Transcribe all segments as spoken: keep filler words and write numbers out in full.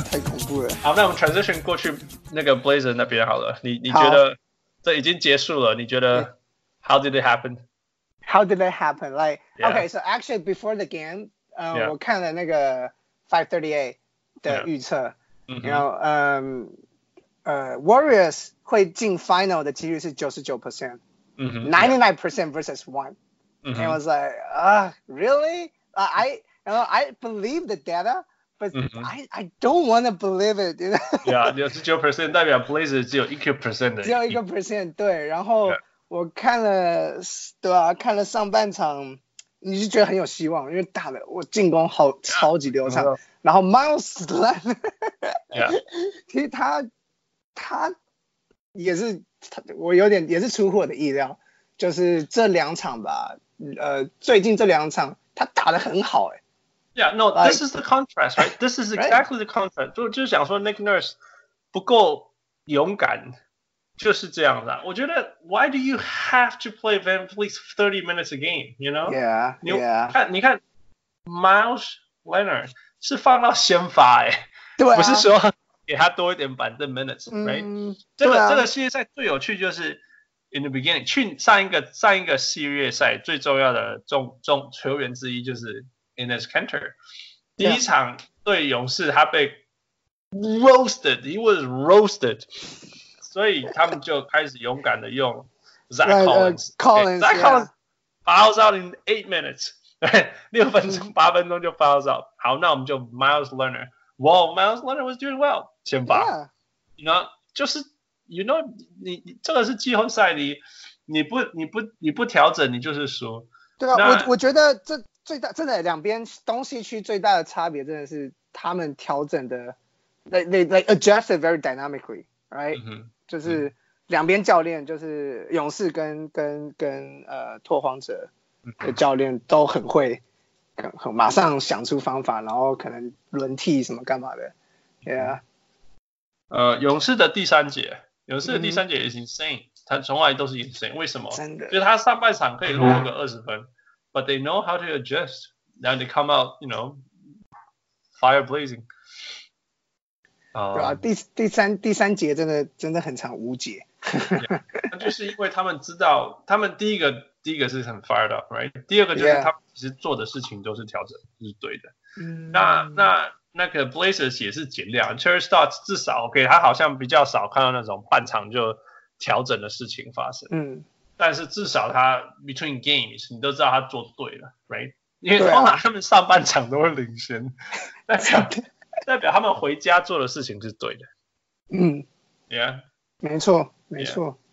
太恐怖了。 好，那我們 transition 過去那個 Blazer 那邊好了。你你覺得這已經結束了？你覺得 How did it happen? How did it happen? Like yeah. okay, so actually before the game, 呃、uh, ， yeah. 我看了那個five thirty-eight 的預測， yeah. 然後嗯呃 Warriors 會進 Final 的幾率是九十九 percent，ninety-nine percent versus one。And I was like, ah, uh, really? Uh, I, you know, I believe the data, but mm-hmm. I, I don't want to believe it. You know? Yeah, 九十九 percent 代表 Blazers 只有一個 percent 的， 只有一個 percent 對。然後我看了，對啊，看了上半場，你就覺得很有希望，因為打的我進攻好超級流暢。Yeah. 然後 Miles Leonard， 其實他他也是他，我有點也是出乎我的意料，就是這兩場吧。呃，最近這兩場他打得很好哎。 Yeah, no, this is the contrast, right? This is exactly the contrast. 就就是想說 Nick Nurse 不夠勇敢，就是這樣的。我覺得 Why do you have to play Van Vliet thirty minutes a game? You know? Yeah, 你 yeah. 看，你看 Miles Leonard 是放到先發哎， 對啊， 不是說給他多一點板凳 minutes, right? 嗯， 這個、 啊、 這個系列賽最有趣就是。In the beginning， 去上一個上一個系列賽最重要的重重球員之一就是 Enes Kanter。第一場對勇士，他被 roasted，he was roasted， 所以他們就開始勇敢的用 Zach Collins。Zach Collins fouls out in eight minutes， 對，六分鐘八分鐘就 fouls out。好，那我們就 Miles Leonard。Wow, Miles Leonard was doing well， 先發。You know， 就是。You know， 你你這個是季後賽，你你不你不你不調整，你就是輸。 對啊，我我覺得這最大真的兩邊東西區最大的差別真的是他們調整的 ，they they they adjusted very dynamically，right？、嗯、就是兩邊教練，就是勇士跟跟跟呃拓荒者的教練都很會，很很馬上想出方法，然後可能輪替什麼幹嘛的 ，Yeah。 呃，勇士的第三節。勇士的第三節也是 insane，、嗯、他從來都是 insane， 為什麼？ 真的， 就是他上半場可以落個二十分、嗯、，but they know how to adjust，and they come out，you know，fire blazing。 對啊，第第三第三節真的真的很長無解。 yeah, 那就是因為他們知道，他們第一個第一個是很 fired up，right？ 第二個就是他們其實做的事情都是調整，是對的。嗯，那那。那個 Blazers 也是盡量 Terry Stotts 至少 OK， 他好像比較少看到那種半場就調整的事情發生。嗯，但是至少他 between games 你都知道他做對了 ，right？ 因為通常他們上半場都會領先，代表代表他們回家做的事情是對的。嗯 ，Yeah， 沒錯沒錯。 Yeah.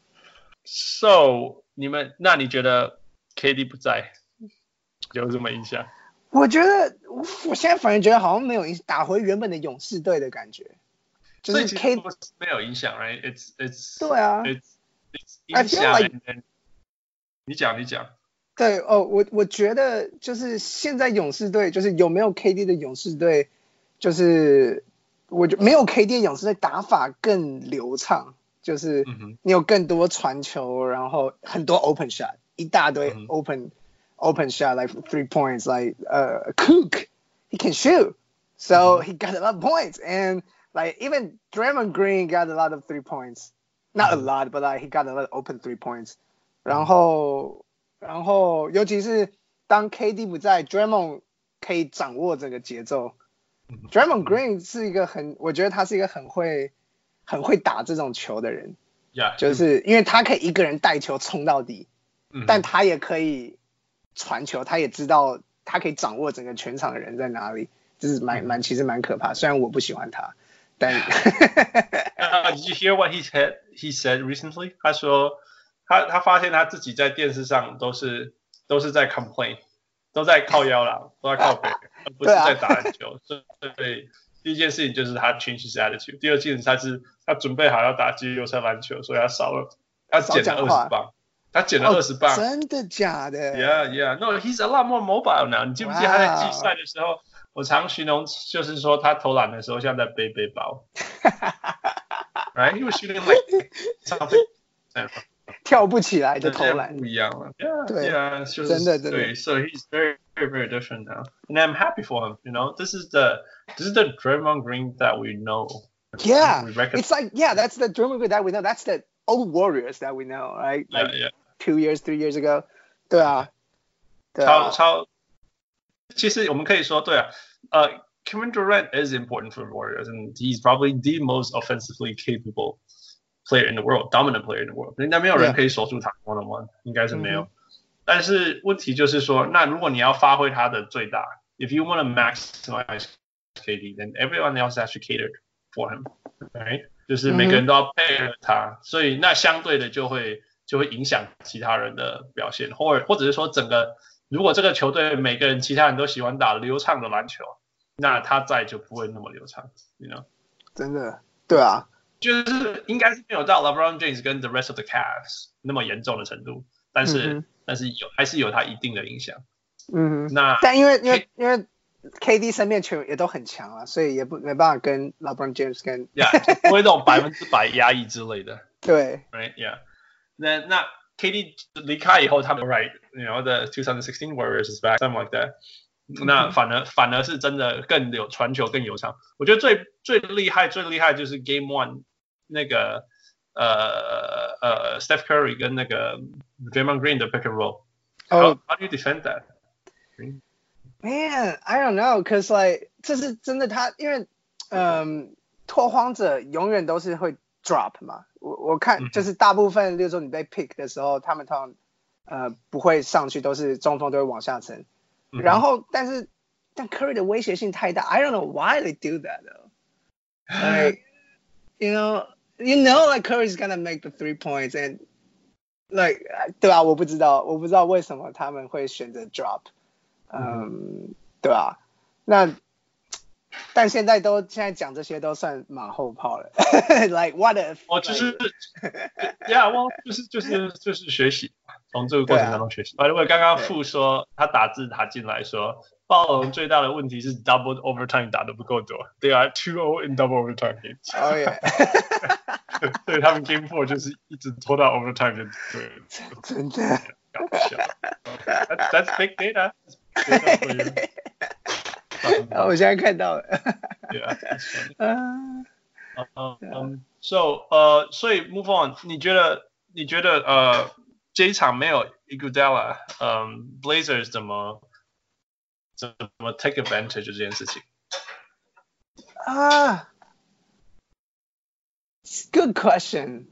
So 你們那你覺得 K D 不在有什麼影響？ 我覺得我我現在反而覺得好像沒有打回原本的勇士隊的感覺，就是 K 沒有影響 ，right？ It's it's 對啊 ，it's it's 影響。Like, 你講你講。 對哦，我我覺得就是現在勇士隊就是有沒有 K D 的勇士隊，就是我覺得沒有 K D 的勇士隊打法更流暢，就是你有更多傳球，然後很多 open shot， 一大堆 open、嗯。open shot like three points like uh Cook he can shoot so mm-hmm. he got a lot of points and like even Draymond Green got a lot of three points not mm-hmm. a lot but like he got a lot of open three points 然後然後尤其是當 K D 不在 Draymond 可以掌握這個節奏 Draymond Green 是一個很我覺得他是一個很會很會打這種球的人 yeah. 就是因為他可以一個人帶球衝到底、mm-hmm. 但他也可以傳球，他也知道他可以掌握整個全場的人在哪裡，就是蠻蠻其實蠻可怕。雖然我不喜歡他，但。 uh, Did you hear what he said? He said recently. 他說他他發現他自己在電視上都是都是在 complain， 都在靠腰啦，都在靠北，而不是在打籃球。所以第一件事情就是他 change his attitude。第二件事他是他準備好要打季後賽籃球，所以他少了他減了二十磅。他減了二十磅， 真的假的 ？Yeah, yeah. No, he's a lot more mobile now. 你記不記得他在季賽的時候，我常形容就是說他投籃的時候像在背背包。Right? He was shooting like something. 跳不起來的投籃， 不一樣了。Yeah, 對 yeah, 就是真的真的。 對 So he's very, very, very different now, and I'm happy for him. You know, this is the this is the Draymond Green that we know. Yeah, we it's like yeah, that's the Draymond Green that we know. That's the old Warriors that we know, right? Like yeah, yeah. two years, three years ago. 對啊，對啊啊。 超超，其實我們可以說，對啊，呃、uh,，Kevin Durant is important for the Warriors, and he's probably the most offensively capable player in the world, dominant player in the world. 應該沒有人可以守住他 one on one， 應該是沒有。但是問題就是說，那如果你要發揮他的最大 ，if you want to maximize K D, then everyone else has to cater for him, right? 就是每個人都要配合他，所以那相對的就會。就會影響其他人的表現，或者或者是說整個，如果這個球隊每個人其他人都喜歡打流暢的籃球，那他在就不會那麼流暢 ，you know？ 真的，對啊， 就是應該是沒有到 LeBron James 跟 the rest of the Cavs 那麼嚴重的程度，但是、嗯、但是有還是有他一定的影響。 嗯哼， 那但因為因為因為 K D 身邊球員也都很強啊，所以也不沒辦法跟 LeBron James 跟， 呀、yeah, 不會那種百分之百壓抑之類的。 對 ，right yeah。那那 K D 離開以後，他們 right，you know the twenty sixteen Warriors is back，something like that。那反而反而是真的更有傳球更流暢。我覺得最最厲害最厲害就是 Game One 那個呃呃 Steph Curry 跟那個 Draymond Green 的 pick and roll。How how do you defend that? Man, I don't know, cause like 這是真的他，他因為嗯拓荒者永遠都是會 drop 嘛。我我看就是大部分，例如說你被 pick 的時候，他們通常呃不會上去，都是中鋒都會往下沉。嗯、然後但是但 Curry 的威脅性太大 ，I don't know why they do that though. Like you know, you know, like Curry's gonna make the three points and like 對啊，我不知道，我不知道為什麼他們會選擇 drop。嗯，嗯對啊，那。但現在都現在講這些都算馬後炮了，like what if？ 哦，就是，yeah， well， 就是就是就是學習，從這個過程當中學習。如果剛剛傅說他打字打進來說，暴龍最大的問題是 double overtime 打得不夠多 ，they are two oh in double overtime games。哦耶，所以他們 game four 就是一直拖到 overtime 就對了。 真的， 搞笑。That's that's big data. data for you. 啊，我現在看到了。 Yeah, that's funny. 嗯嗯嗯，so 呃，所以 move on， 你覺得你覺得呃這一場沒有 Iguodala， 嗯 ，Blazers 怎麼怎麼 take advantage 這件事情？ 啊、uh, ，Good question.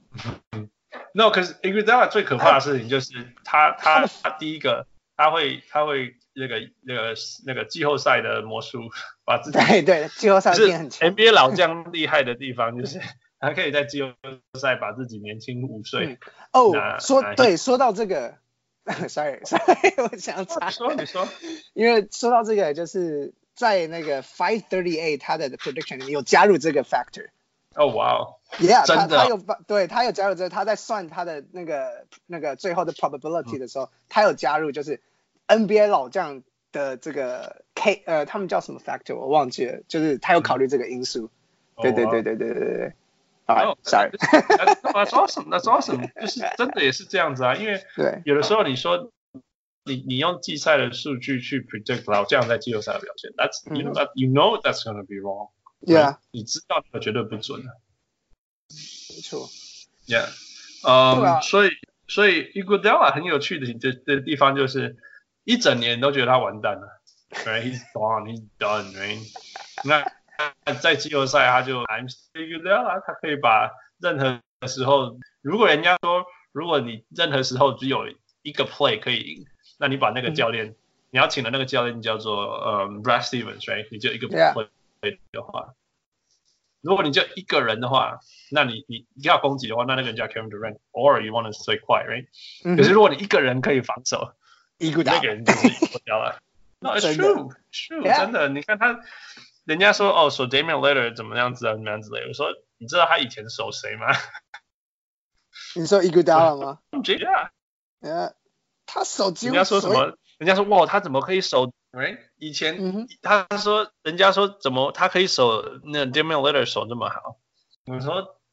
No， 可是 Iguodala 最可怕的事情就是他他他第一個他會他會。那個那個那個季後賽的魔術，把自己對對季後賽變很強。 N B A 老將厲害的地方就是，他可以在季後賽把自己年輕五歲。 哦、嗯，oh, 說對，說到這個 ，sorry sorry， 我想插。 你說你說， 因為說到這個，就是在那個five thirty-eight他的 prediction 裡面有加入這個 factor。 哦哇哦 ，Yeah， 真的， 他他有對他有加入這個，他在算他的那個那個最後的 probability 的時候，嗯、他有加入就是。N B A 老將的這個 K 呃，他們叫什麼 factor 我忘記了，就是他有考慮這個因素。嗯、對對對對對對對。 哦 sorry。 That's awesome, that's awesome， 就是真的也是這樣子啊，因為有的時候你說你你用季賽的數據去 predict 老將在季後賽的表現 ，That's you know that you know that's gonna be wrong。Yeah。你知道那個絕對不準的。 沒錯。 Yeah。嗯，所以所以 Iguodala 很有趣的的的地方就是。一整年都覺得他完蛋了 ，right? He's gone, he's done, right? 那在季後賽他就 I'm still Iguodala， 他可以把任何時候，如果人家說，如果你任何時候只有一個 play 可以贏，那你把那個教練，嗯、你要請的那個教練叫做呃、um, Brad Stevens， right? 你就一個 play 的話， yeah. 如果你就一個人的話，那你你要攻擊的話，那那個人叫 Kevin Durant，or you want to stay quiet, right? 嗯、可是如果你一個人可以防守。那個人就是 Iguodala No, it's true, true， yeah. 真的。你看他，人家說哦，守 Damian Lillard 怎麼樣子啊，怎麼樣之類的。我說，你知道他以前守誰嗎？ 你說 Iguodala 嗎 ？Yeah， yeah， 他守幾乎。 人家說什麼？人家說哇，他怎麼可以守 ？Right？ 以前、嗯、他說，人家說怎麼他可以守那 Damian Lillard 守這麼好？我說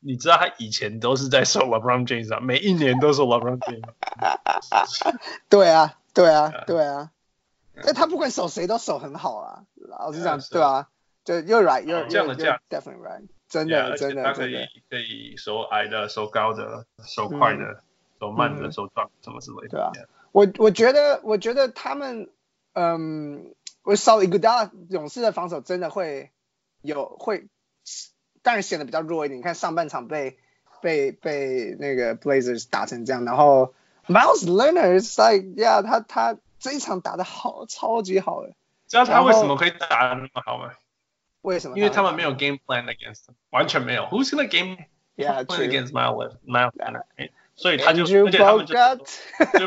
你知道他以前都是在守 LeBron James 啊，每一年都守 LeBron James。 对啊，对啊，对啊。但他不管守誰都守很好啊，老實講，對啊，就 you're right，you're you're you're definitely right， 真的真的真的。 可以守矮的、守高的、守快的、守慢的、守壯什麼之類的。 對啊，我我覺得我覺得他們，嗯，我少了Iguodala，勇士的防守真的會有會，當然顯得比較弱一點。你看上半場被被被那個 Blazers 打成這樣，然後 Miles Leonard like yeah 他他。這一場打得好，超級好的。 知道他為什麼可以打得那麼好嗎？ 為什麼？ 因為他們沒有 game plan against him， 完全沒有。Who's gonna game yeah, plan against Miles Miles Leonard？ Yeah. 所以他就， Andrew 而且他們就 Bogut，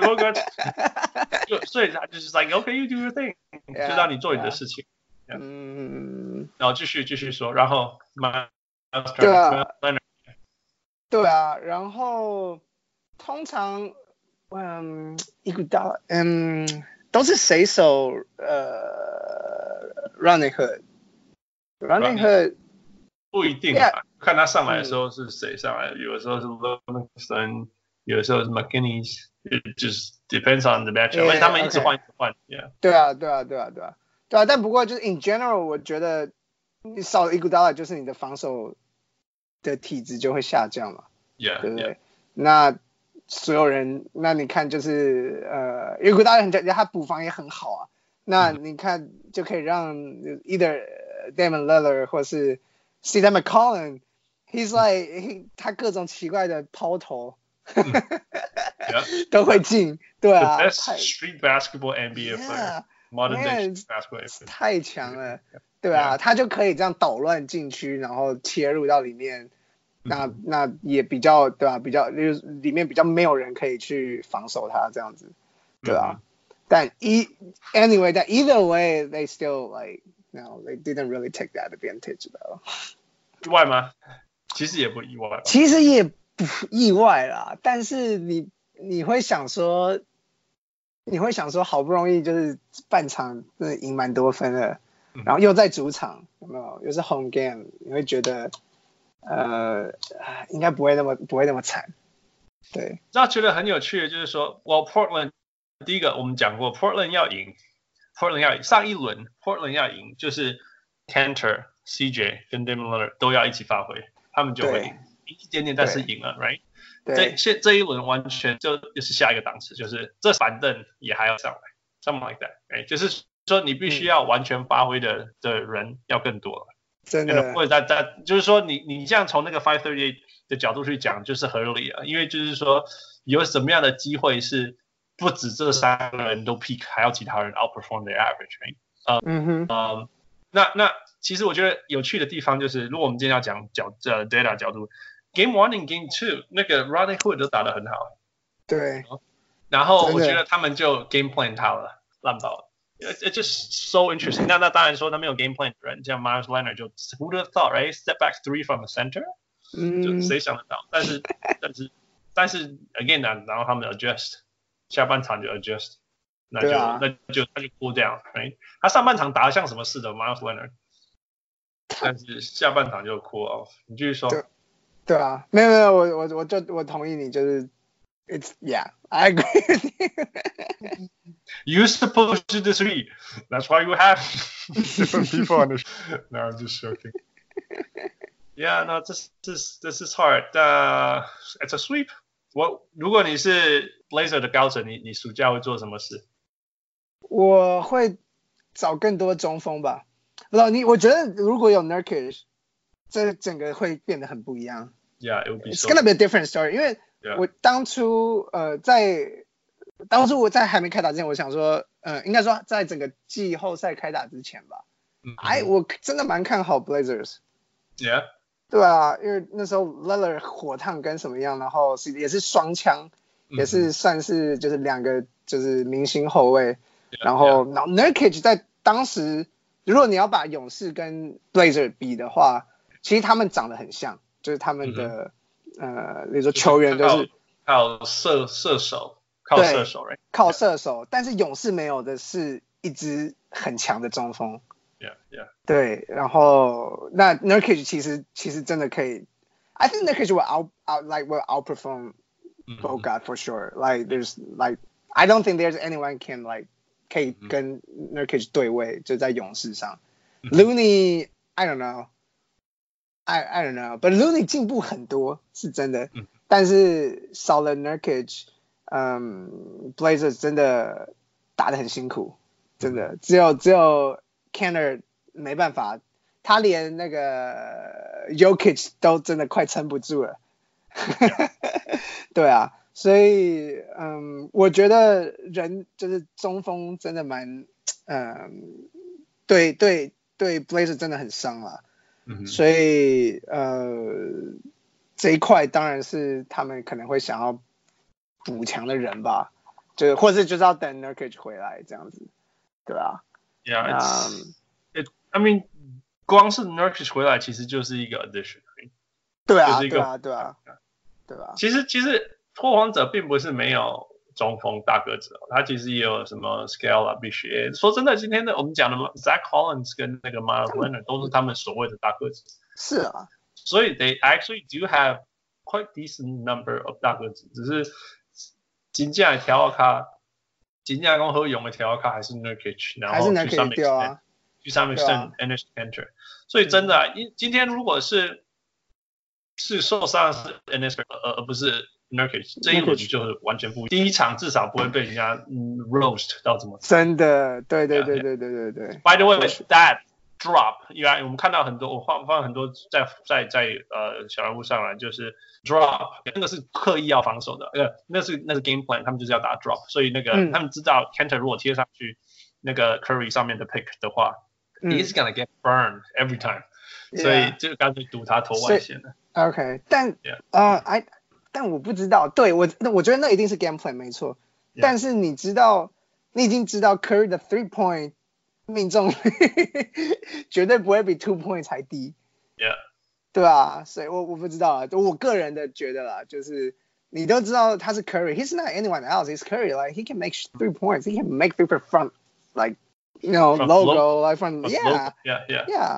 Bogut 就所以他就是 like OK you do your thing， yeah, 就讓你做你的事情。 Yeah. 嗯， 然後繼續繼續說，然後 Miles Leonard，對啊，然後通常。嗯，伊古達，嗯，都是誰守呃 Rodney Hood，Rodney Hood 不一定啊，看他上來的時候是誰上來，有的時候是 Livingston， 有的時候是 McKinney， 就是 depends on the matchup， 而且他們一直換一直換 ，yeah。 對啊，對啊，對啊，對啊，對啊，但不過就是 in general， 我覺得你少了伊古達，就是你的防守的體質就會下降嘛 ，yeah， 對不對？ yeah. 那所有人，那你看就是呃，因為古達人他補防也很好啊，那你看就可以讓 either Damian Lillard 或是 C J McCollum，he's like 他各種奇怪的拋投，嗯 yeah. 都會進，對啊 ，The best street basketball N B A player，modern day basketball N B A， 太強了，對啊， yeah. 他就可以這樣搗亂禁區，然後切入到裡面。那那也比較對吧、啊？比較就是裡面比較沒有人可以去防守他這樣子，對吧、啊？ Mm-hmm. 但一 anyway， 但 either way they still like no they didn't really take that advantage though。 意外嗎？其實也不意外。 其實也不意外啦，但是你你會想說，你會想說好不容易就是半場真的贏蠻多分的， mm-hmm. 然後又在主場有沒有？又是 home game， 你會覺得。呃，應該不會那麼不會那麼慘，對。 那覺得很有趣的就是說 ，Well Portland 第一個我們講過 ，Portland 要贏 ，Portland 要贏。上一輪 Portland 要贏，就是 Kanter、C J 跟 Damian Lillard 都要一起發揮，他們就會贏一點點，但是贏了 ，right？ 這現這一輪完全就就是下一個檔次，就是這板凳也還要上來 ，something like that，right？ 就是說你必須要完全發揮的、嗯、的人要更多了。 真的， 或者在在，就是說你你這樣從那個five thirty-eight的角度去講，就是合理啊，因為就是說有什麼樣的機會是不止這三個人都 peak， 還要其他人 outperform their average，right？ 呃、 嗯哼， 呃，那那其實我覺得有趣的地方就是，如果我們今天要講角呃 data 角度 ，Game One and Game Two 那個 Rodney Hood 都打得很好， 對， 然後我覺得他們就 game plan 他了，爛爆了。It's just so interesting. 那那當然說他沒有 game plan 的人，像 Miles Leonard 就 Who would have thought, right? Step back three from the center， 嗯， 就誰想得到？但是但是但是 again 呢，然後他們 adjust， 下半場就 adjust， 那就、啊、那就他就 cool down， right？ 他上半場打得像什麼似的 Miles Leonard， 但是下半場就 cool off。你繼續說。 對，對啊，沒有沒有，我我我就我同意你，就是 it's yeah, I agree with you. You're supposed to disagree. That's why you have different people on the show. No, I'm just joking. Yeah, no, this this this is hard. Uh, it's a sweep. 我如果你是 Blazer 的高層，你你暑假會做什麼事？ 我會找更多中鋒吧。不知道你，我覺得如果有 Nurkic， 這整個會變得很不一樣。 Yeah, it would be. It's gonna be a different story. 因為我當初呃在。當初我在還沒開打之前，我想說，呃，應該說在整個季後賽開打之前吧， 嗯、 哎，我真的蠻看好 Blazers。Yeah。對啊，因為那時候 Lillard 火燙跟什麼樣，然後是也是雙槍、嗯，也是算是就是兩個就是明星後衛， yeah, 然後 yeah. 然後 Nurkic 在當時，如果你要把勇士跟 Blazers 比的話，其實他們長得很像，就是他們的、嗯、呃，比如說球員都是靠射射手。靠射手，對， 靠射手，但是勇士沒有的是一支很強的中鋒。 Yeah, yeah. 對，然後那 Nurkic 其實其實真的可以， I think Nurkic will out, out like will outperform mm-hmm. Bogut for sure. Like there's like I don't think there's anyone can like 可以跟 Nurkic 對位，就在勇士上。 Mm-hmm. Looney I don't know, I I don't know, but Looney 進步很多是真的， Mm-hmm. 但是少了 Nurkic， 嗯 ，Blazers 真的打得很辛苦，真的只有只有 Kanter 沒辦法。他連那個 Jokic 都真的快撐不住了，對啊，所以嗯，我覺得人就是中鋒真的蠻，嗯，對對對 Blazer 真的很傷了，嗯、所以呃這一塊當然是他們可能會想要補強的人吧，就或者就是要等 Nurkic 回來這樣子，對啊 Yeah, it's, um, it, I mean. 光是 Nurkic 回來其實就是一個 addition， 對啊， 就是一個對啊，對啊，對啊。 其實其實拓荒者並不是沒有中鋒大個子，他其實也有什麼 Scala 必須。說真的，今天的我們講的 Zach Collins 跟那個 Miles Leonard 都是他們所謂的大個子。 是啊， 所以 they actually do have quite decent number of 大個子，只是真正的條卡，真正講好用的條卡還是 Nurkic， 然後去上面對啊。 去上面剩 Enes Kanter， 所以真的、啊，今今天如果是是受傷是 Enes Kanter 而而不是 Nurkic， 這一輪就是完全不一樣。第一場至少不會被人家、嗯、roast 到這麼。 真的，對對對對對對對。 By the way, that drop， 因為我們看到很多，我放放很多在在在呃小人物上來，就是 drop， 那個是刻意要防守的，呃，那是那是 game plan， 他們就是要打 drop， 所以那個、嗯、他們知道 Kanter 如果貼上去那個 Curry 上面的 pick 的話。He's gonna get burned every time，、yeah. 所以就乾脆賭他投外線了。 OK， 但呃，哎、yeah. ，uh, 但我不知道，對我，我覺得那一定是 game plan 沒錯。Yeah. 但是你知道，你已經知道 Curry 的 three point 命中率絕對不會比 two point 才低。 Yeah， 對啊，所以我我不知道啊，我個人的覺得啦，就是你都知道他是 Curry，he's not anyone else，he's Curry，like he can make three points，he can make three point from like。You know, from logo, logo, like from, from yeah, logo. yeah, yeah, yeah.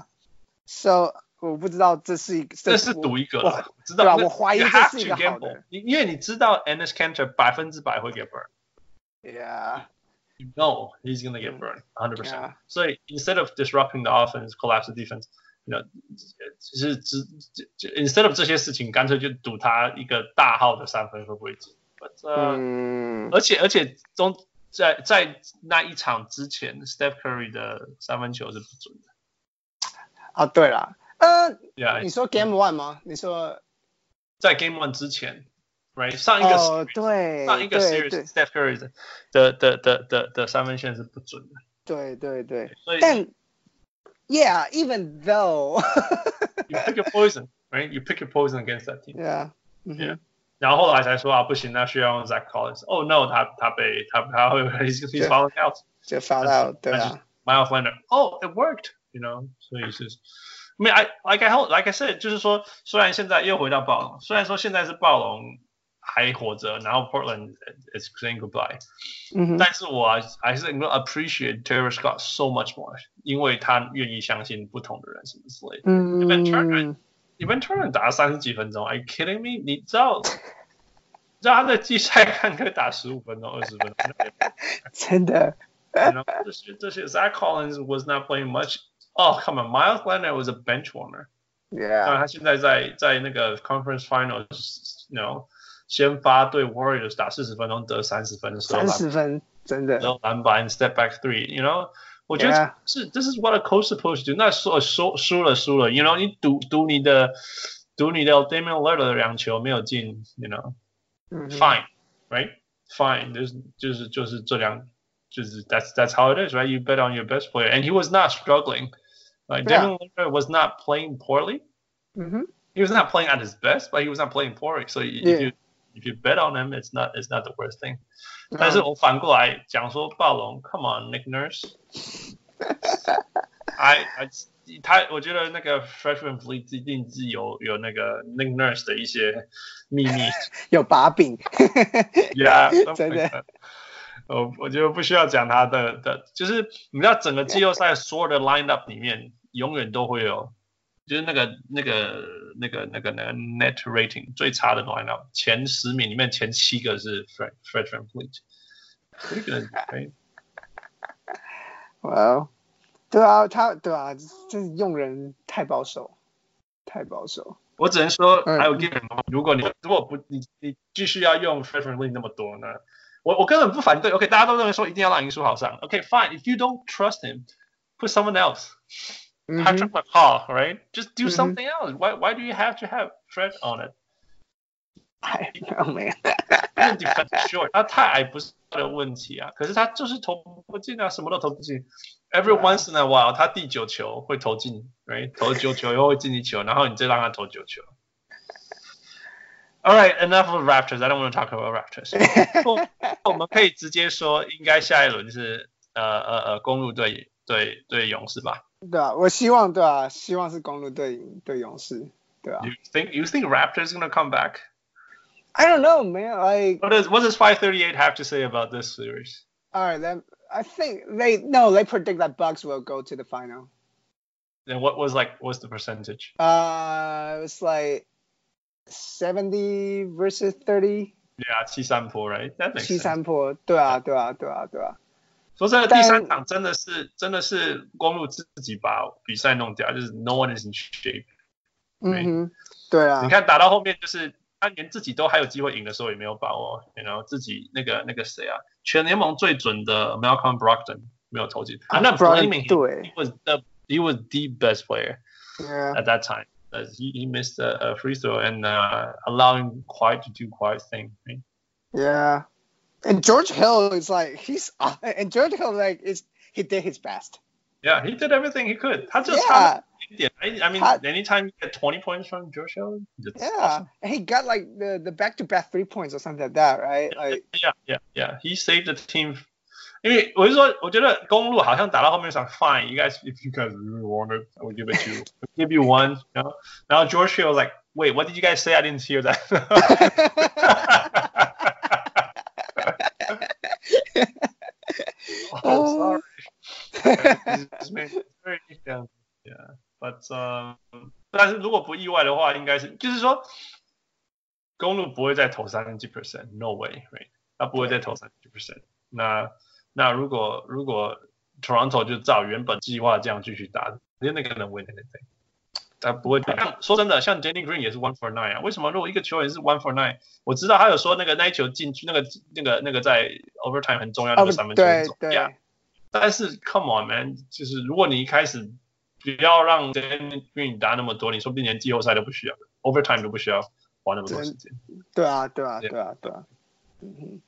So 我不知道這是一個， 這是賭一個了，知道對吧？我懷疑這是一個好的， 因為你知道 Enes Kanter 百分之百會 get burned. Yeah. You know he's gonna get burned, one hundred percent. 所以 instead of disrupting the offense, collapse the defense, you know, 其實只 instead of 這些事情，乾脆就賭他一個大號的三分會不會進。But, uh, 嗯，而且而且中。在在那一場之前 ，Steph Curry 的三分球是不準的。 啊，對啦，呃， yeah, 你說 Game One 嗎？你說在 Game One 之前 ，right？ 上一個 series，、 哦、對， 上一個 series，Steph Curry 的的的的的的三分線是不準的。 對對對， 所以但 ，Yeah，even though ，you pick your poison，right？You pick your poison against that team. Yeah. Yeah. 然後後來才說啊，不行，那需要用 Zach Collins。Oh no， 他他被他他會 he's he's falling out， 就 fall out， 對啊。 Miles Leonard，Oh it worked，you know， 所以是 I mean I like I like I said， 就是說，雖然現在又回到暴龍，雖然說現在是暴龍還活着，然後 Portland is saying goodbye，、嗯、但是我還是能夠 appreciate Terrence Scott so much more， 因為他願意相信不同的人什麼之類的。嗯 Evan Turner，Evan Turner 打了三十幾分鐘 ，Are you kidding me？ 你知道，你知道他在季賽看可以打十五分鐘、二十分鐘， 真的。 You know， 這些這些 Zach Collins was not playing much。Oh come on，Miles Leonard was a bench warmer。Yeah。當然他現在在在那個 Conference Finals，you know， 先發對 Warriors 打四十分鐘得三十分， 三十分真的。 然後籃板 step back three，you know。我覺得是 ，This is what a coach supposed to do。那說說輸了輸了 ，you know， 你賭賭你的賭你的 Damian Lillard 的兩球沒有進 ，you know，fine，right，fine， 就是就是就是這兩，就是 that's that's how it is，right？You bet on your best player，and he was not struggling。Like Damian Lillard was not playing poorly。Mm-hmm. He was not playing at his best, but he was not playing poorly. So if you if you bet on him, it's not it's not the worst thing. 但是我反過來講說暴龍 ，Come on, Nick Nurse，I I 他我覺得那個 Freshman Fleet 一定是有有那個 Nick Nurse 的一些秘密， 有把柄。 Yeah， 真的。 我我覺得不需要講他的的，就是你知道整個季後賽所有的 lineup 裡面，永遠都會有就是那個那個那個那個那個 net rating 最差的 lineup， 前十名裡面前七個是 Fred Fred VanVleet。Pretty good, right? Well, 對啊，他對啊，就是用人太保守，太保守。我只能說 ，I will give him。如果你如果不你你繼續要用 Fred VanVleet 那麼多呢，我我根本不反對。OK， 大家都認為說一定要讓林書豪上。OK，fine，if you don't trust him，put someone else。Patrick McCaw, right? Just do something else. Why why do you have to have Fred on it? I don't know, man. 他的 defense short， 他太矮不是他的問題啊，可是他就是投不進啊，什麼都投不進。Every once in a while， 他第九球會投進 ，right？ 投九球以後會進一球，然後你再讓他投九球。All right, enough of Raptors. I don't want to talk about Raptors. 我們可以直接說，應該下一輪是呃呃呃公鹿對對對勇士吧？ 對啊，我希望对啊，希望是公鹿對对勇士，对啊。 You think you think Raptors gonna come back? I don't know, man. Like what does what does five thirty-eight have to say about this series? All right, then I think they no, they predict that Bucks will go to the final. Then what was like what's the percentage? Uh, it was like seventy versus thirty. Yeah, 七三波 right? That makes sense. 七三波，对啊，对啊，对啊，对啊。 说真的，第三场真的是真的是公鹿自己把比賽弄掉，就是 no one is in shape。 嗯哼，对啊。 你看打到後面，就是他連自己都還有機會贏的時候也沒有把握，然後自己那個那個誰啊，全聯盟最準的 Malcolm Brogdon 沒有投進。I'm not blaming him. He was the he was the best player yeah. at that time. He he missed a, a free throw and uh, allowing Kawhi to do Kawhi's thing. Right? Yeah. And George Hill is like he's uh, and George Hill like is he did his best. Yeah, he did everything he could. 他就 yeah. 一點 I, I mean,他 anytime you get twenty points from George Hill, yeah, awesome. And he got like the the back to back three points or something like that, right? Like yeah, yeah, yeah. He saved the team. 因為我是說，我覺得公鹿好像打到後面想 fine, you guys, if you guys really want it, I will give it to you. I'll give you one. You know? Now George Hill was like, wait, what did you guys say? I didn't hear that. Oh, sorry. This man is very down. Yeah, but um, 但是如果不意外的話，應該是就是說，公鹿不會再投三十幾 percent，no way， right？ 他不會再投三十幾 percent。那那如果如果 Toronto 就照原本計劃這樣繼續打，連那個能 win anything， 他不會。像說真的，像 Danny Green 也是 one for nine 啊。為什麼如果一個球員是 one for nine， 我知道他有說那個那一球進去，那個那個那個在 overtime 很重要的那個三分球很重要。Yeah. 但是 come on man， 就是如果你一開始不要讓 Danny Green 打那麼多，你說不定連季後賽都不需要 ，overtime 都不需要花那麼多時間。 對啊，對啊，對啊，對啊。嗯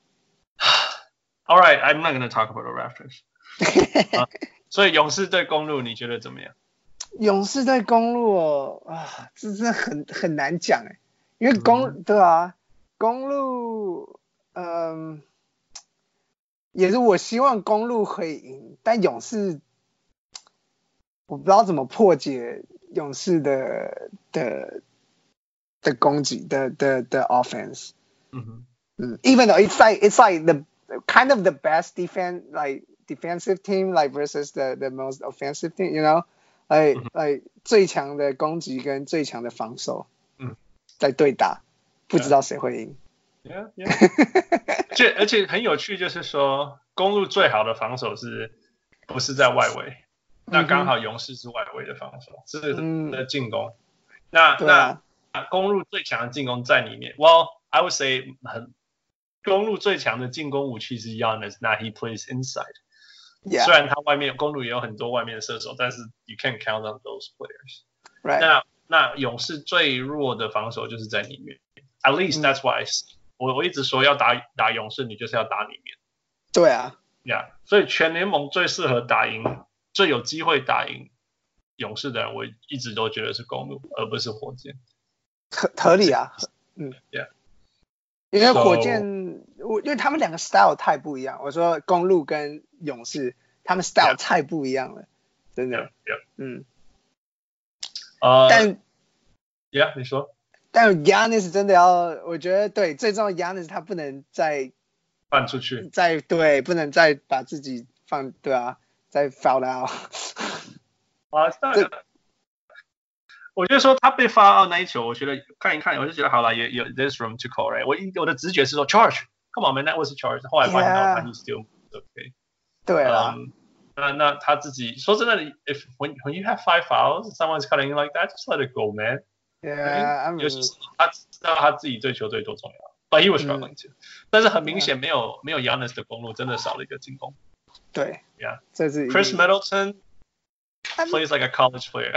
All right, I'm not going to talk about the Raptors 、uh, 所以勇士對公鹿你覺得怎麼樣？ 勇士對公鹿哦，啊，這真的很很難講哎，因為公、嗯、對啊，公鹿，嗯，也是我希望公鹿可以贏，但勇士我不知道怎麼破解勇士的的的攻擊的的的 offense。嗯哼，嗯 ，even though it's like it's like the kind of the best defense like defensive team like versus the the most offensive team, you know, like、嗯、like 最強的攻擊跟最強的防守，嗯，在對打，不知道誰會贏。 Yeah, yeah. 而且而且很有趣，就是說公鹿最好的防守是不是在外圍？那剛好勇士是外圍的防守，是的進攻。嗯、那、啊、那公鹿最強的進攻在裡面。Well, I would say 很公鹿最強的進攻武器是 Giannis， 那 he plays inside。Yeah. 雖然他外面公鹿也有很多外面的射手，但是 you can't count on those players。Right. 那那勇士最弱的防守就是在裡面。At least that's why I see、嗯、我我一直說要打打勇士，你就是要打裡面。 對啊。 Yeah. 所以全聯盟最適合打贏、最有機會打贏勇士的人，我一直都覺得是公鹿，而不是火箭。 合合理啊。嗯。 Yeah. 因為火箭，我、so, 因為他們兩個 style 太不一樣。我說公鹿跟勇士，他們 style 太不一樣了， yeah. 真的。 Yeah, yeah. 嗯。 呃、uh, 但 ，Yeah， 你說。 但 Giannis 真的要，我覺得對，最重要 Giannis 他不能再放出去， 再對，不能再把自己放，對啊，再 foul out。 啊，那個。 我覺得說他被發到那一球，我覺得看一看，我就覺得好了，也有 there's room to call right。我我的直覺是說 charge，come on man，that was a charge。後來發現到他 he still okay。 對啊。 Um, 那那他自己說真的 ，if when when you have five fouls, someone's cutting like that, just let it go, man. Yeah, I mean, 尤其是他知道他自己对球队多重要 ，but he was struggling too、嗯。但是很明顯沒有、yeah. 沒有 Giannis 的公路，真的少了一個進攻。 對 ，Yeah， 這是 Chris Middleton plays like a college player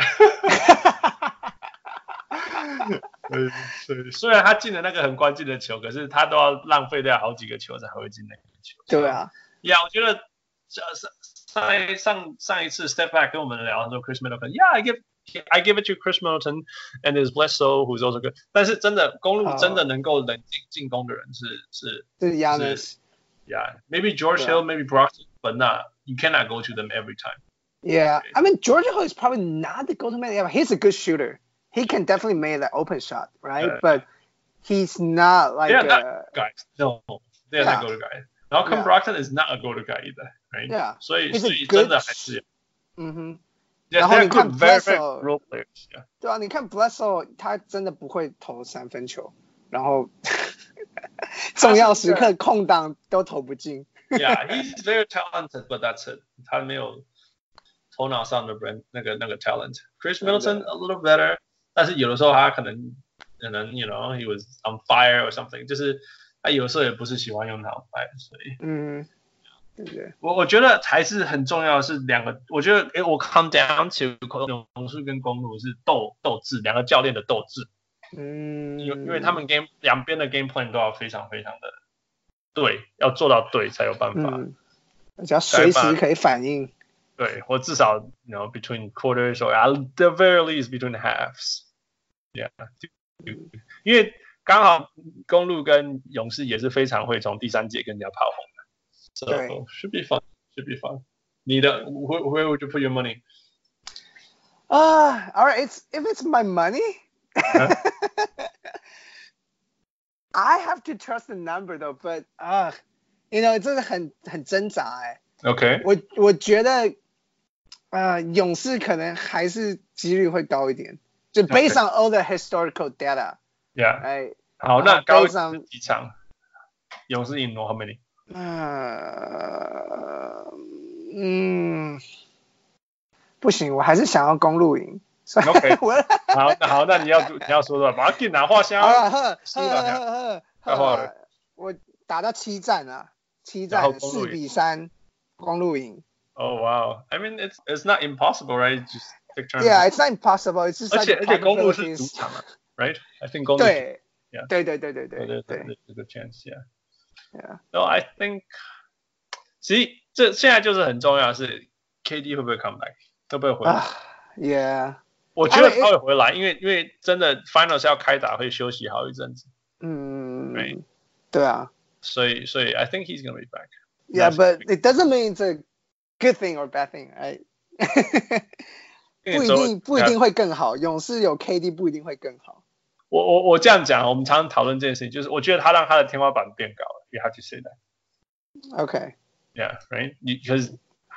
對。雖然他進了那個很關鍵的球，可是他都要浪費掉好幾個球才會進那個球。 對啊， 呀、yeah, ，我覺得上上上一次 Step Back 跟我們聊很多 Chris Middleton，Yeah，I give I give it to Chris Middleton and his Bledsoe who's also good。但是真的公路真的能夠冷靜進攻的人是、oh. 是是 Giannis。 Yeah，maybe George Hill, maybe Broxton, but not you cannot go to them every time. Yeah, I mean George Hill is probably not the go-to man. He's a good shooter. He can definitely make that open shot, right? Uh, but he's not like they're a not guys. No, they're yeah. not go-to guys. Malcolm yeah. Brogdon is not a go-to guy either, right? Yeah. 所以所以真的還是嗯哼。 然後你看 Bledsoe， role players， 对啊，你看 Bledsoe 他真的不會投三分球，然後重要時刻空檔都投不進。 Yeah, he's very talented, but that's it. 他沒有頭腦上的那個那個 talent. Chris Middleton a little better， 但是有的時候他可能可能 you know he was on fire or something， 就是他有時候也不是喜歡用腦袋，所以嗯。對對我我覺得還是很重要的是兩個，我覺得誒我 come down to 勇士跟公鹿是鬥鬥志，兩個教練的鬥志， 嗯， 因因為他們 game 兩邊的 game plan 都要非常非常的對，要做到對才有辦法， 嗯，而且要隨時可以反應， 對，或至少 you know between quarters or at the very least between halves，yeah， 因為剛好公鹿跟勇士也是非常會從第三節跟人家炮轟。So should be fun. Should be fun. 你的 where, where would you put your money? Uh, all right. It's if it's my money, huh? I have to trust the number though. But uh, you know, 真的很很掙扎哎。 Okay. 我我覺得呃勇士可能還是幾率會高一點，就 based on all the historical data. Yeah. 哎， 好，那高幾場？勇士贏多少 many？ 呃，嗯，不行，我還是想要公鹿贏。 OK， 好，那好，那你要你要說的，把它給拿畫箱。 好了，呵呵呵呵，我打到七戰啊，七戰四比三，公鹿贏。 Oh wow! I mean, it's it's not impossible, right? Just take turns. Yeah, it's not impossible. It's just like 而且而且公鹿是主場嘛 ，right? I think 公鹿對，對對對對對對對， 這個 chance, yeah. Yeah. No, I think， 其實這現在就是很重要的是 K D 會不會 come back， 會不會回來、uh, ？Yeah， 我覺得他會回來，因為因為真的 Finals 要開打，會休息好一陣子。 嗯， right? 對啊。 所以所以 I think he's gonna be back. Yeah, but it doesn't mean it's a good thing or bad thing, right? 不一定不一定會更好，勇士有 K D 不一定會更好。 我我我這樣講，我們常常討論這件事情，就是我覺得他讓他的天花板變高了。You have to say that. Okay. Yeah, right. Because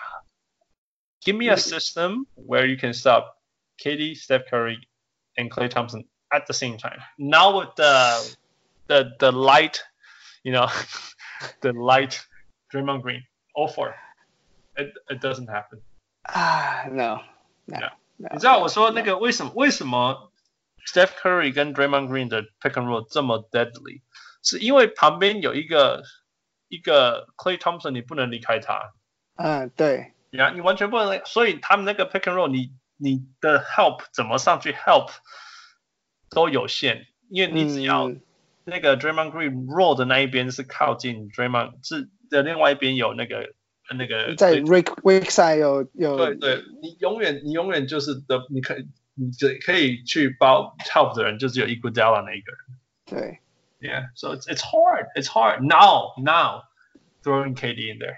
give me a system where you can stop K D, Steph Curry, and Klay Thompson at the same time. Now with the the the light, you know, the light Draymond Green, all four. It it doesn't happen. Ah, no, no. Yeah. no 你知道我說那個為什麼為什麼 Steph Curry 跟 Draymond Green 的 pick and roll 這麼 deadly， 是因為旁邊有一個一個 Klay Thompson， 你不能離開他。 嗯，對。 呀，你完全不能，所以他們那個 pick and roll， 你你的 help 怎麼上去 help 都有限，因為你只要那個 Draymond Green roll 的那一邊是靠近 Draymond， 是的另外一邊有那個那個在 Rick Rick side 有有。 對對，你永遠你永遠就是的，你可以你可以去包 help 的人就只有 Iguodala 那一個人。 對。 Yeah, so it's it's hard. It's hard now. Now throwing K D in there.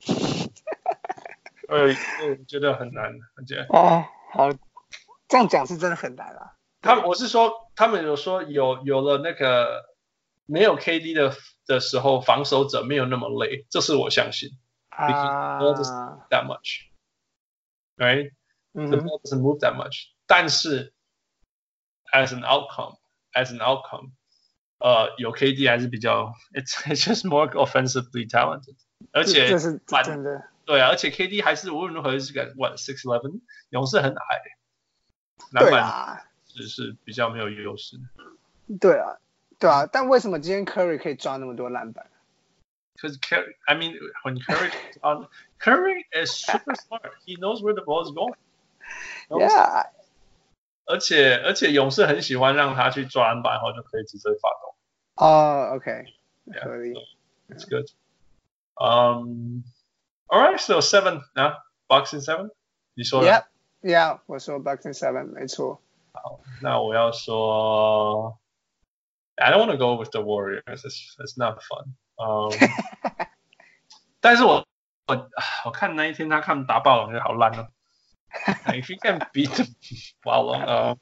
呃，我覺得很難，我覺得。 哦，好，這樣講是真的很難啊。 他們我是說，他們有說有有了那個沒有 K D 的的時候，防守者沒有那麼累，這是我相信。 啊。 Because the ball doesn't move that much, right? The ball doesn't move that much. 但是 as an outcome as an outcome， 呃，有 K D 還是比較 ，it's it's just more offensively talented， 而且這是真的。 对啊，而且 K D 還是無論如何是個 what six eleven， 勇士很矮，籃板只是比較沒有優勢。 對啊，對啊，但為什麼今天 Curry 可以抓那麼多籃板 ？Because Curry, I mean, when Curry is on, Curry is super smart. He knows where the ball is going. Yeah. 而且而且勇士很喜歡讓他去抓籃板，然後就可以直接發動。 哦、oh, ，OK， 合理。It's good. Um, all right, so seven 啊 ，Bucks in seven， 你說了 ？Yeah, yeah， 我說 Bucks in seven， 沒錯。 好，那我要說 ，I don't want to go with the Warriors. It's it's not fun. Um, 但是我我我看那一天他看打暴龍就好爛哦。If you can beat the 暴龍，呃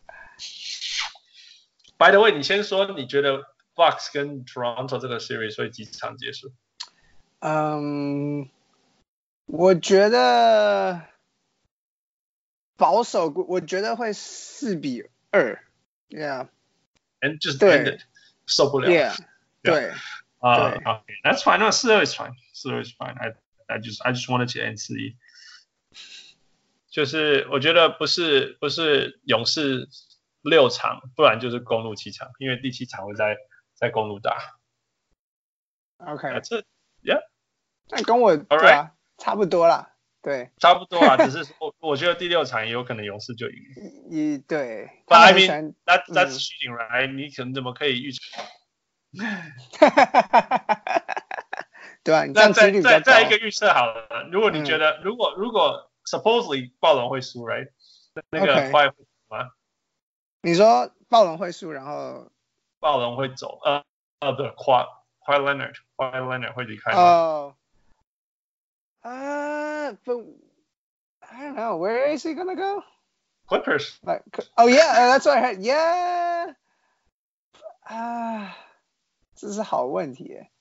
，By the way， 你先說，你覺得 Bucks 跟 Toronto 這個 series 會幾場結束？ 嗯，我覺得保守，我覺得會四比二。Yeah，and just end it， 受不了。 Yeah， 對。 Uh, okay, that's fine. No, 四二 is fine. 四二 is fine. I I just I just wanted to end 四一。就是我覺得不是不是勇士六場，不然就是公鹿七場，因為第七場會在在公鹿打。 OK， 這 Yeah， 那跟我對啊差不多啦，對， 差不多啊，只是說我覺得第六場也有可能勇士就贏。 一對 ，But I mean that that's cheating, right？ 你可能怎麼可以預測？ 對啊， 那再再再一個預測好了。如果你覺得，嗯、如果如果 supposedly 暴龍會輸 ，right？ 那個 Kawhi 會輸嗎？ 你說暴龍會輸，然後暴龍會走，呃呃，不是 Kawhi Kawhi Leonard，Kawhi Leonard 會離開嗎？ 哦，啊，不 ，I don't know where is he gonna go? Clippers. Like, oh yeah, that's what I heard. Yeah. 啊。這是好問題耶，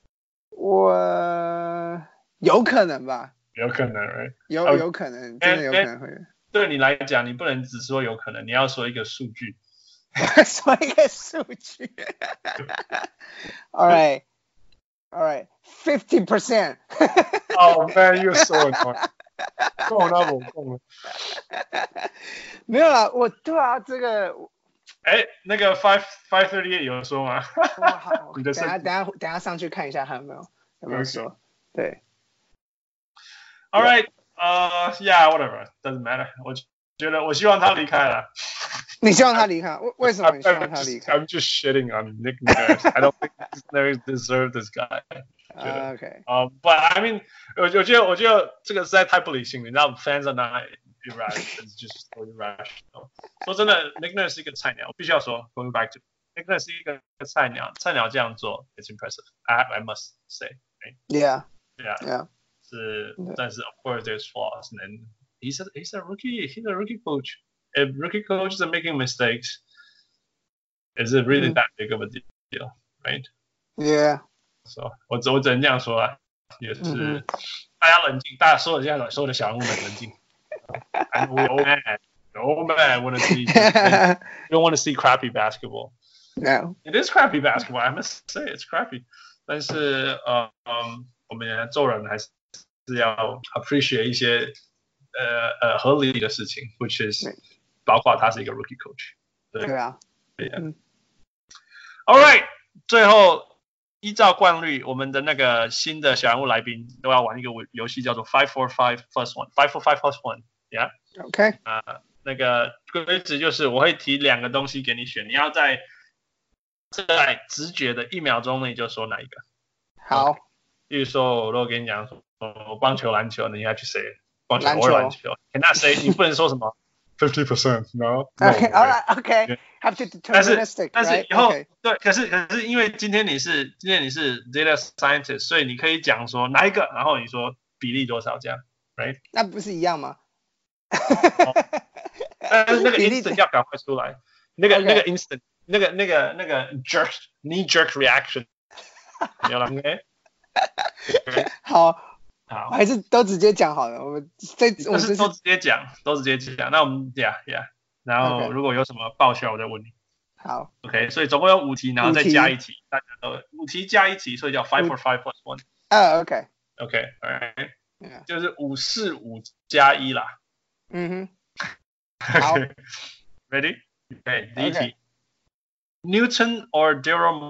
我有可能吧， 有可能， right? 有有可能，真的有可能會。 對你來講，你不能只說有可能，你要說一個數據。 說一個數據。All right, all right, fifty percent. Oh man, you're so annoying. 夠了，我夠了。 沒有啦，我對啊，這個。 哎，那個 five five thirty eight 有說嗎？ 好，等下等下等下上去看一下還有沒有有沒有說。Okay. 對。 All right, uh, yeah, whatever, doesn't matter. 我覺得我希望他離開了。 你希望他離開？為為什麼你希望他離開 I'm just shitting on Nick Nurse. I don't think Nick Nurse deserves this guy. Uh, okay. Um, but I mean, 我我覺得我覺得這個實在太不理性了，你知道 ，fans are not irrational, it's just so irrational. 說真的 ，Nick Nurse 是一個菜鳥，我必須要說 ，going back to Nick Nurse 是一個菜鳥，菜鳥這樣做 ，it's impressive. I I must say. Right? Yeah. Yeah. Yeah. 是，但是 of course there's flaws, and then he's a he's a rookie, he's a rookie coach. If rookie coaches are making mistakes, is it really that big of a deal, right? Yeah. So 我我只能這樣說啊，也是大家冷靜，大家所有現在所有的小人物們冷靜。And we old man, old man want to see, you don't want to see crappy basketball. No. It is crappy basketball. I must say it's crappy. 但是呃嗯，我們做人還是是要 appreciate 一些呃呃合理的事情 ，which is 包括他是一個 rookie coach。 對啊。 對啊。All right， 最後。依照慣例，我們的那個新的小人物來賓都要玩一個遊戲，叫做 five four five plus one。five four five plus one，yeah。OK。啊，那個規則就是我會提兩個東西給你選，你要在在直覺的一秒鐘內就說哪一個。 好。 Okay. 比如說，我如果跟你講說棒球、籃球，你應該去誰？棒球或籃球。那誰？你不能說什麼。fifty percent, no. Okay, all right, okay. Have to deterministic, 但是但是以後 right? 對，可是可是因為今天你是今天你是 data scientist， 所以你可以講說哪一個，然後你說比例多少這樣 ，right？ 那不是一樣嗎？ 但是那個 instant 要趕快出來，那個那個 instant， 那個那個那個 jerk knee jerk reaction， 有了沒？ 好。 好， 還是都直接講好了。我們這我們是都直接講，都直接講。那我們 yeah yeah 然後如果有什麼爆笑，我再問你。 好 ，OK， 所以總共有五題，然後再加一題，大家都五題加一題，所以叫 five for five plus one。 啊 ，OK，OK， right， 就是五四五加一啦。 嗯哼， 好 ，Ready？ OK， 第一題 ，Newton or Daryl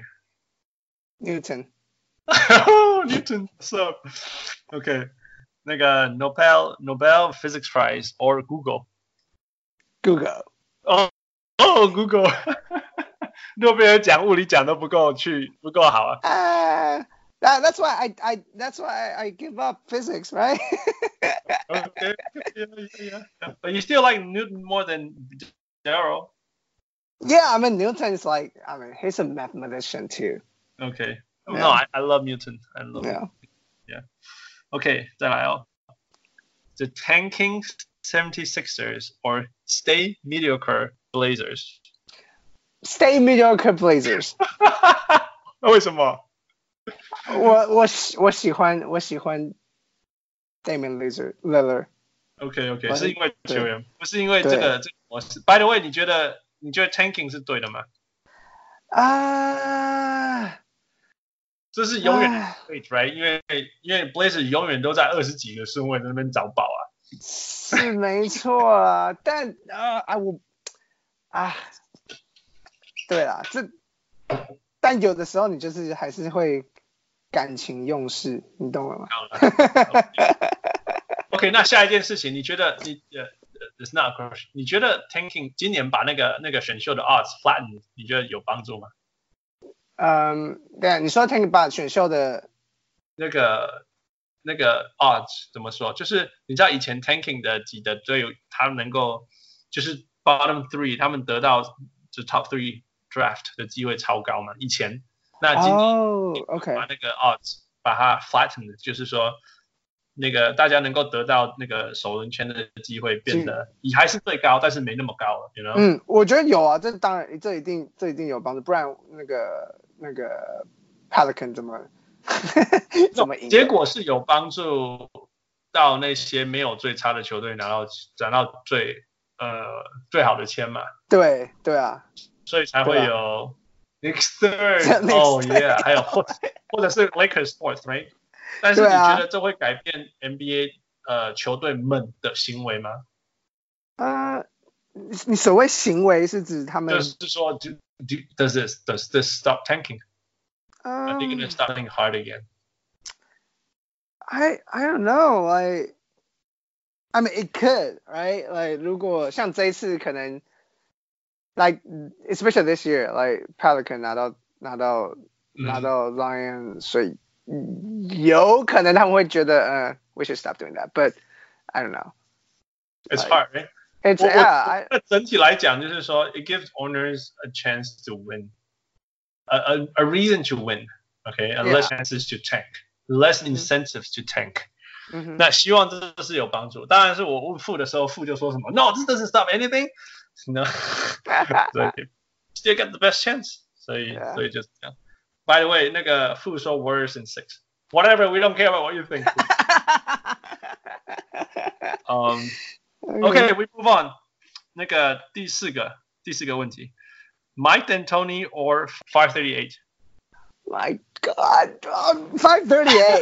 Morey？Newton。Newton，what's up？OK， 那個 Nobel Nobel Physics Prize or Google？Google。 哦。哦 ，Google， 諾貝爾獎物理獎都不夠去，不夠好啊。 Uh, that, that's why I I that's why I give up physics, right? Okay, yeah, yeah, yeah. But you still like Newton more than Daryl. Yeah, I mean Newton is like, I mean he's a mathematician too. Okay. Yeah. No, I, I love Newton. I love. Yeah. Yeah. Okay, 再來哦。The tanking seventy-sixers or stay mediocre Blazers. Stay mediocre Blazers. 為什麼？ 我我我喜歡我喜歡 Damian Lillard。 OK OK， 是因為球員，不是因為這個這個模式。By the way， 你覺得你覺得 tanking 是對的嗎？ 啊、uh, ， 這是永遠的 right？ 因為因為 Blazers 永遠都在二十幾個順位在那邊找寶啊。 是沒錯啊，但啊啊我啊，對啦，這但有的時候你就是還是會感情用事，你懂了嗎 ？OK， 那下一件事情，你覺得你呃、uh, it's not a question， 你覺得 tanking 今年把那個那個選秀的 odds flatten， 你覺得有幫助嗎？ 嗯，對，你說 tanking 把選秀的那個。那個 odds 怎麼說？就是你知道以前 tanking 的幾的隊友，他們能夠就是 bottom three， 他們得到就 top three draft 的機會超高嘛？以前，那今年、 oh, okay. 把那個 odds 把它 flattened， 就是說那個大家能夠得到那個首輪籤的機會變得也還是最高，但是沒那麼高了 you know？ 嗯，我覺得有啊，這當然這一定這一定有幫助，不然那個那個 Pelican 怎麼？怎麼贏？ 結果是有幫助到那些沒有最差的球隊拿到拿到最呃最好的籤嘛？ 對對啊， 所以才會有 Knicks third， 哦耶，還有或或者是 Lakers fourth，right？ 但是你覺得這會改變 N B A 呃球隊們的行為嗎？ 呃，你所謂行為是指他們？ 就是說 do, do, does this does this stop tanking？Are they going to start playing hard again? I I don't know. Like, I mean, it could, right? Like, 如果像這一次可能 like especially this year, like Pelican 拿到拿到、嗯、拿到 Lion， 所以有可能他們會覺得呃、uh, we should stop doing that, but I don't know. It's like, hard, right? It's yeah. 我, I, 整體來講就是說 it gives owners a chance to win, a a, a reason to win, okay, and less chances to tank, less incentives to tank. 嗯、 那希望這是有幫助。當然是我問傅的時候，傅就說什麼 No, this doesn't stop anything. No, 所以 still get the best chance. 所以、yeah. 所以就是這樣。By the way, 那個傅說 Warriors in six. Whatever, we don't care about what you think. um, okay, we move on. 那個第四個第四個問題 ，Mike D'Antoni or five thirty-eight? My God, um, five thirty-eight.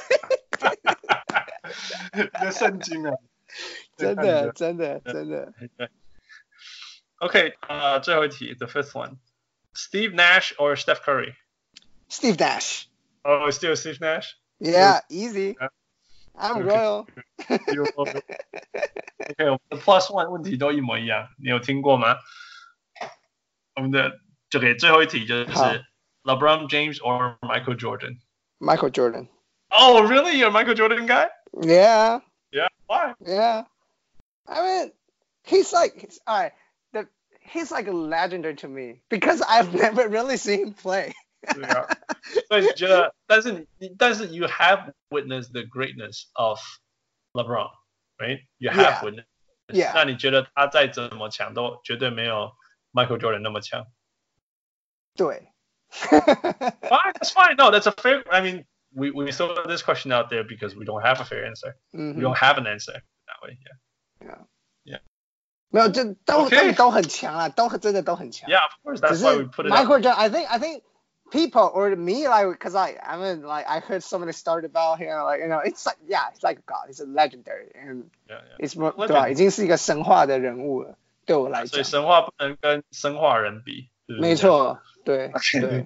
那聖經啊， 真的真的真的。 OK， 呃，最後一題 ，the fifth one. Steve Nash or Steph Curry? Steve Nash. Oh, still Steve Nash? Yeah, easy. Yeah. I'm royal. OK， 我們的 plus one 問題都一模一樣，你有聽過嗎？我們的就給最後一題就是 LeBron James or Michael Jordan? Michael Jordan. Oh, really? You're a Michael Jordan guy? Yeah. Yeah. Why? Yeah. I mean, he's like, he's, all right. The, he's like a legendary to me because I've never really seen him play. 对啊，所以你覺得，但是你，但是 you have witnessed the greatness of LeBron, right? You have yeah. witnessed. Yeah. 那你覺得他再怎麼強，都絕對沒有 Michael Jordan 那麼強？ 對。 Fine, that's fine. No, that's a fair. I mean, we we throw this question out there because we don't have a fair answer. Mm-hmm. We don't have an answer that way. Yeah. Yeah. Yeah. 沒有，就都 Okay. 他們都很強啊，都真的都很強。 Yeah, of course. That's why we put it. Michael Jordan, I think, I think people or me, like, because I, I mean, like, I heard so many stories about him, like, you know, it's like, yeah, it's like God, he's a legendary, and yeah, yeah. it's more, 對吧？已經是一個神話的人物了，對我來講。 所以神話不能跟生化人比。 沒錯，對對。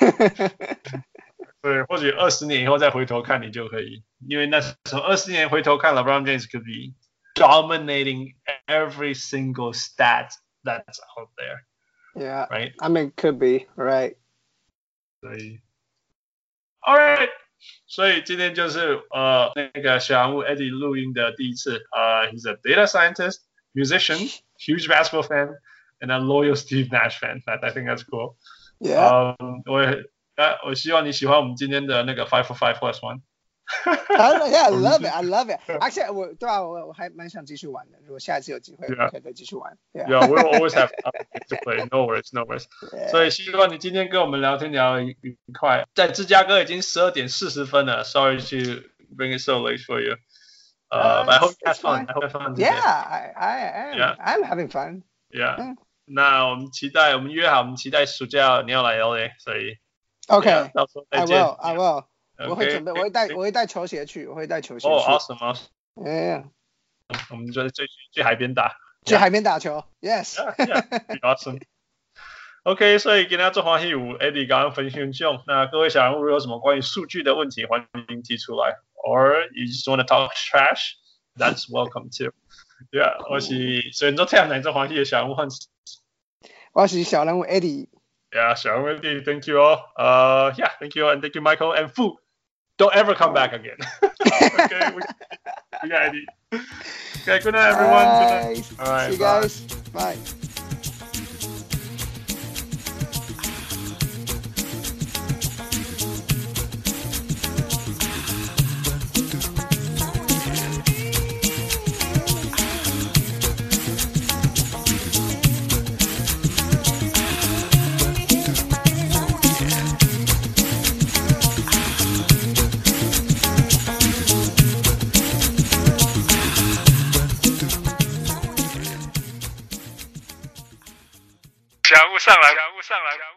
對，或許二十年以後再回頭看，你就可以，因為那時候二十年回頭看 ，LeBron James could be dominating every single stat that's out there. Yeah, right. I mean, could be right. 所以 ，All right. 所以今天就是呃那個小人物 Eddie 錄音的第一次。呃、uh, ，He's a data scientist, musician, huge basketball fan, and a loyal Steve Nash fan. That I think that's cool. Yeah. 嗯，我呃我希望你喜歡我們今天的那個 five for five plus one. Yeah, I love it. I love it. Actually, 我對啊，我我還蠻想繼續玩的。如果下一次有機會，我可以再繼續玩。 Yeah, yeah, we'll always have to play. No worries, no worries. Yeah. 所以希望你今天跟我們聊天聊得愉快。在芝加哥已經十二點四十分了。Sorry to bring it so late for you. Uh, but I hope you have fun. I hope you have fun. Yeah, I, I am. Yeah. I'm having fun. Yeah. yeah. 那我們期待，我們約好，我們期待暑假你要來 L A， 所以 OK， 到時候再見。 I will, I will. Okay. 我會準備，我會帶，我會帶球鞋去，我會帶球鞋去。 哦 ，awesome, awesome. Yeah. 我們就去去海邊打， 去海邊打球。Yes. Yeah, yeah, awesome. OK， 所以今天做歡喜有 Eddie 剛剛分享，那各位小人物如果有什麼關於數據的問題，歡迎提出來。Or you just want to talk trash, that's welcome too. Yeah， 我是雖然都聽唔做歡喜的小人物漢斯， 我是小人物 Eddie。Yeah， 小人物 Eddie, thank you all. Uh, yeah, thank you and thank you Michael and Fu. Don't ever come back again. Okay, we, we got Eddie. Okay, good night everyone. Bye. Good night. All right, see you bye. guys. Bye. 小人物上來，小人物上來。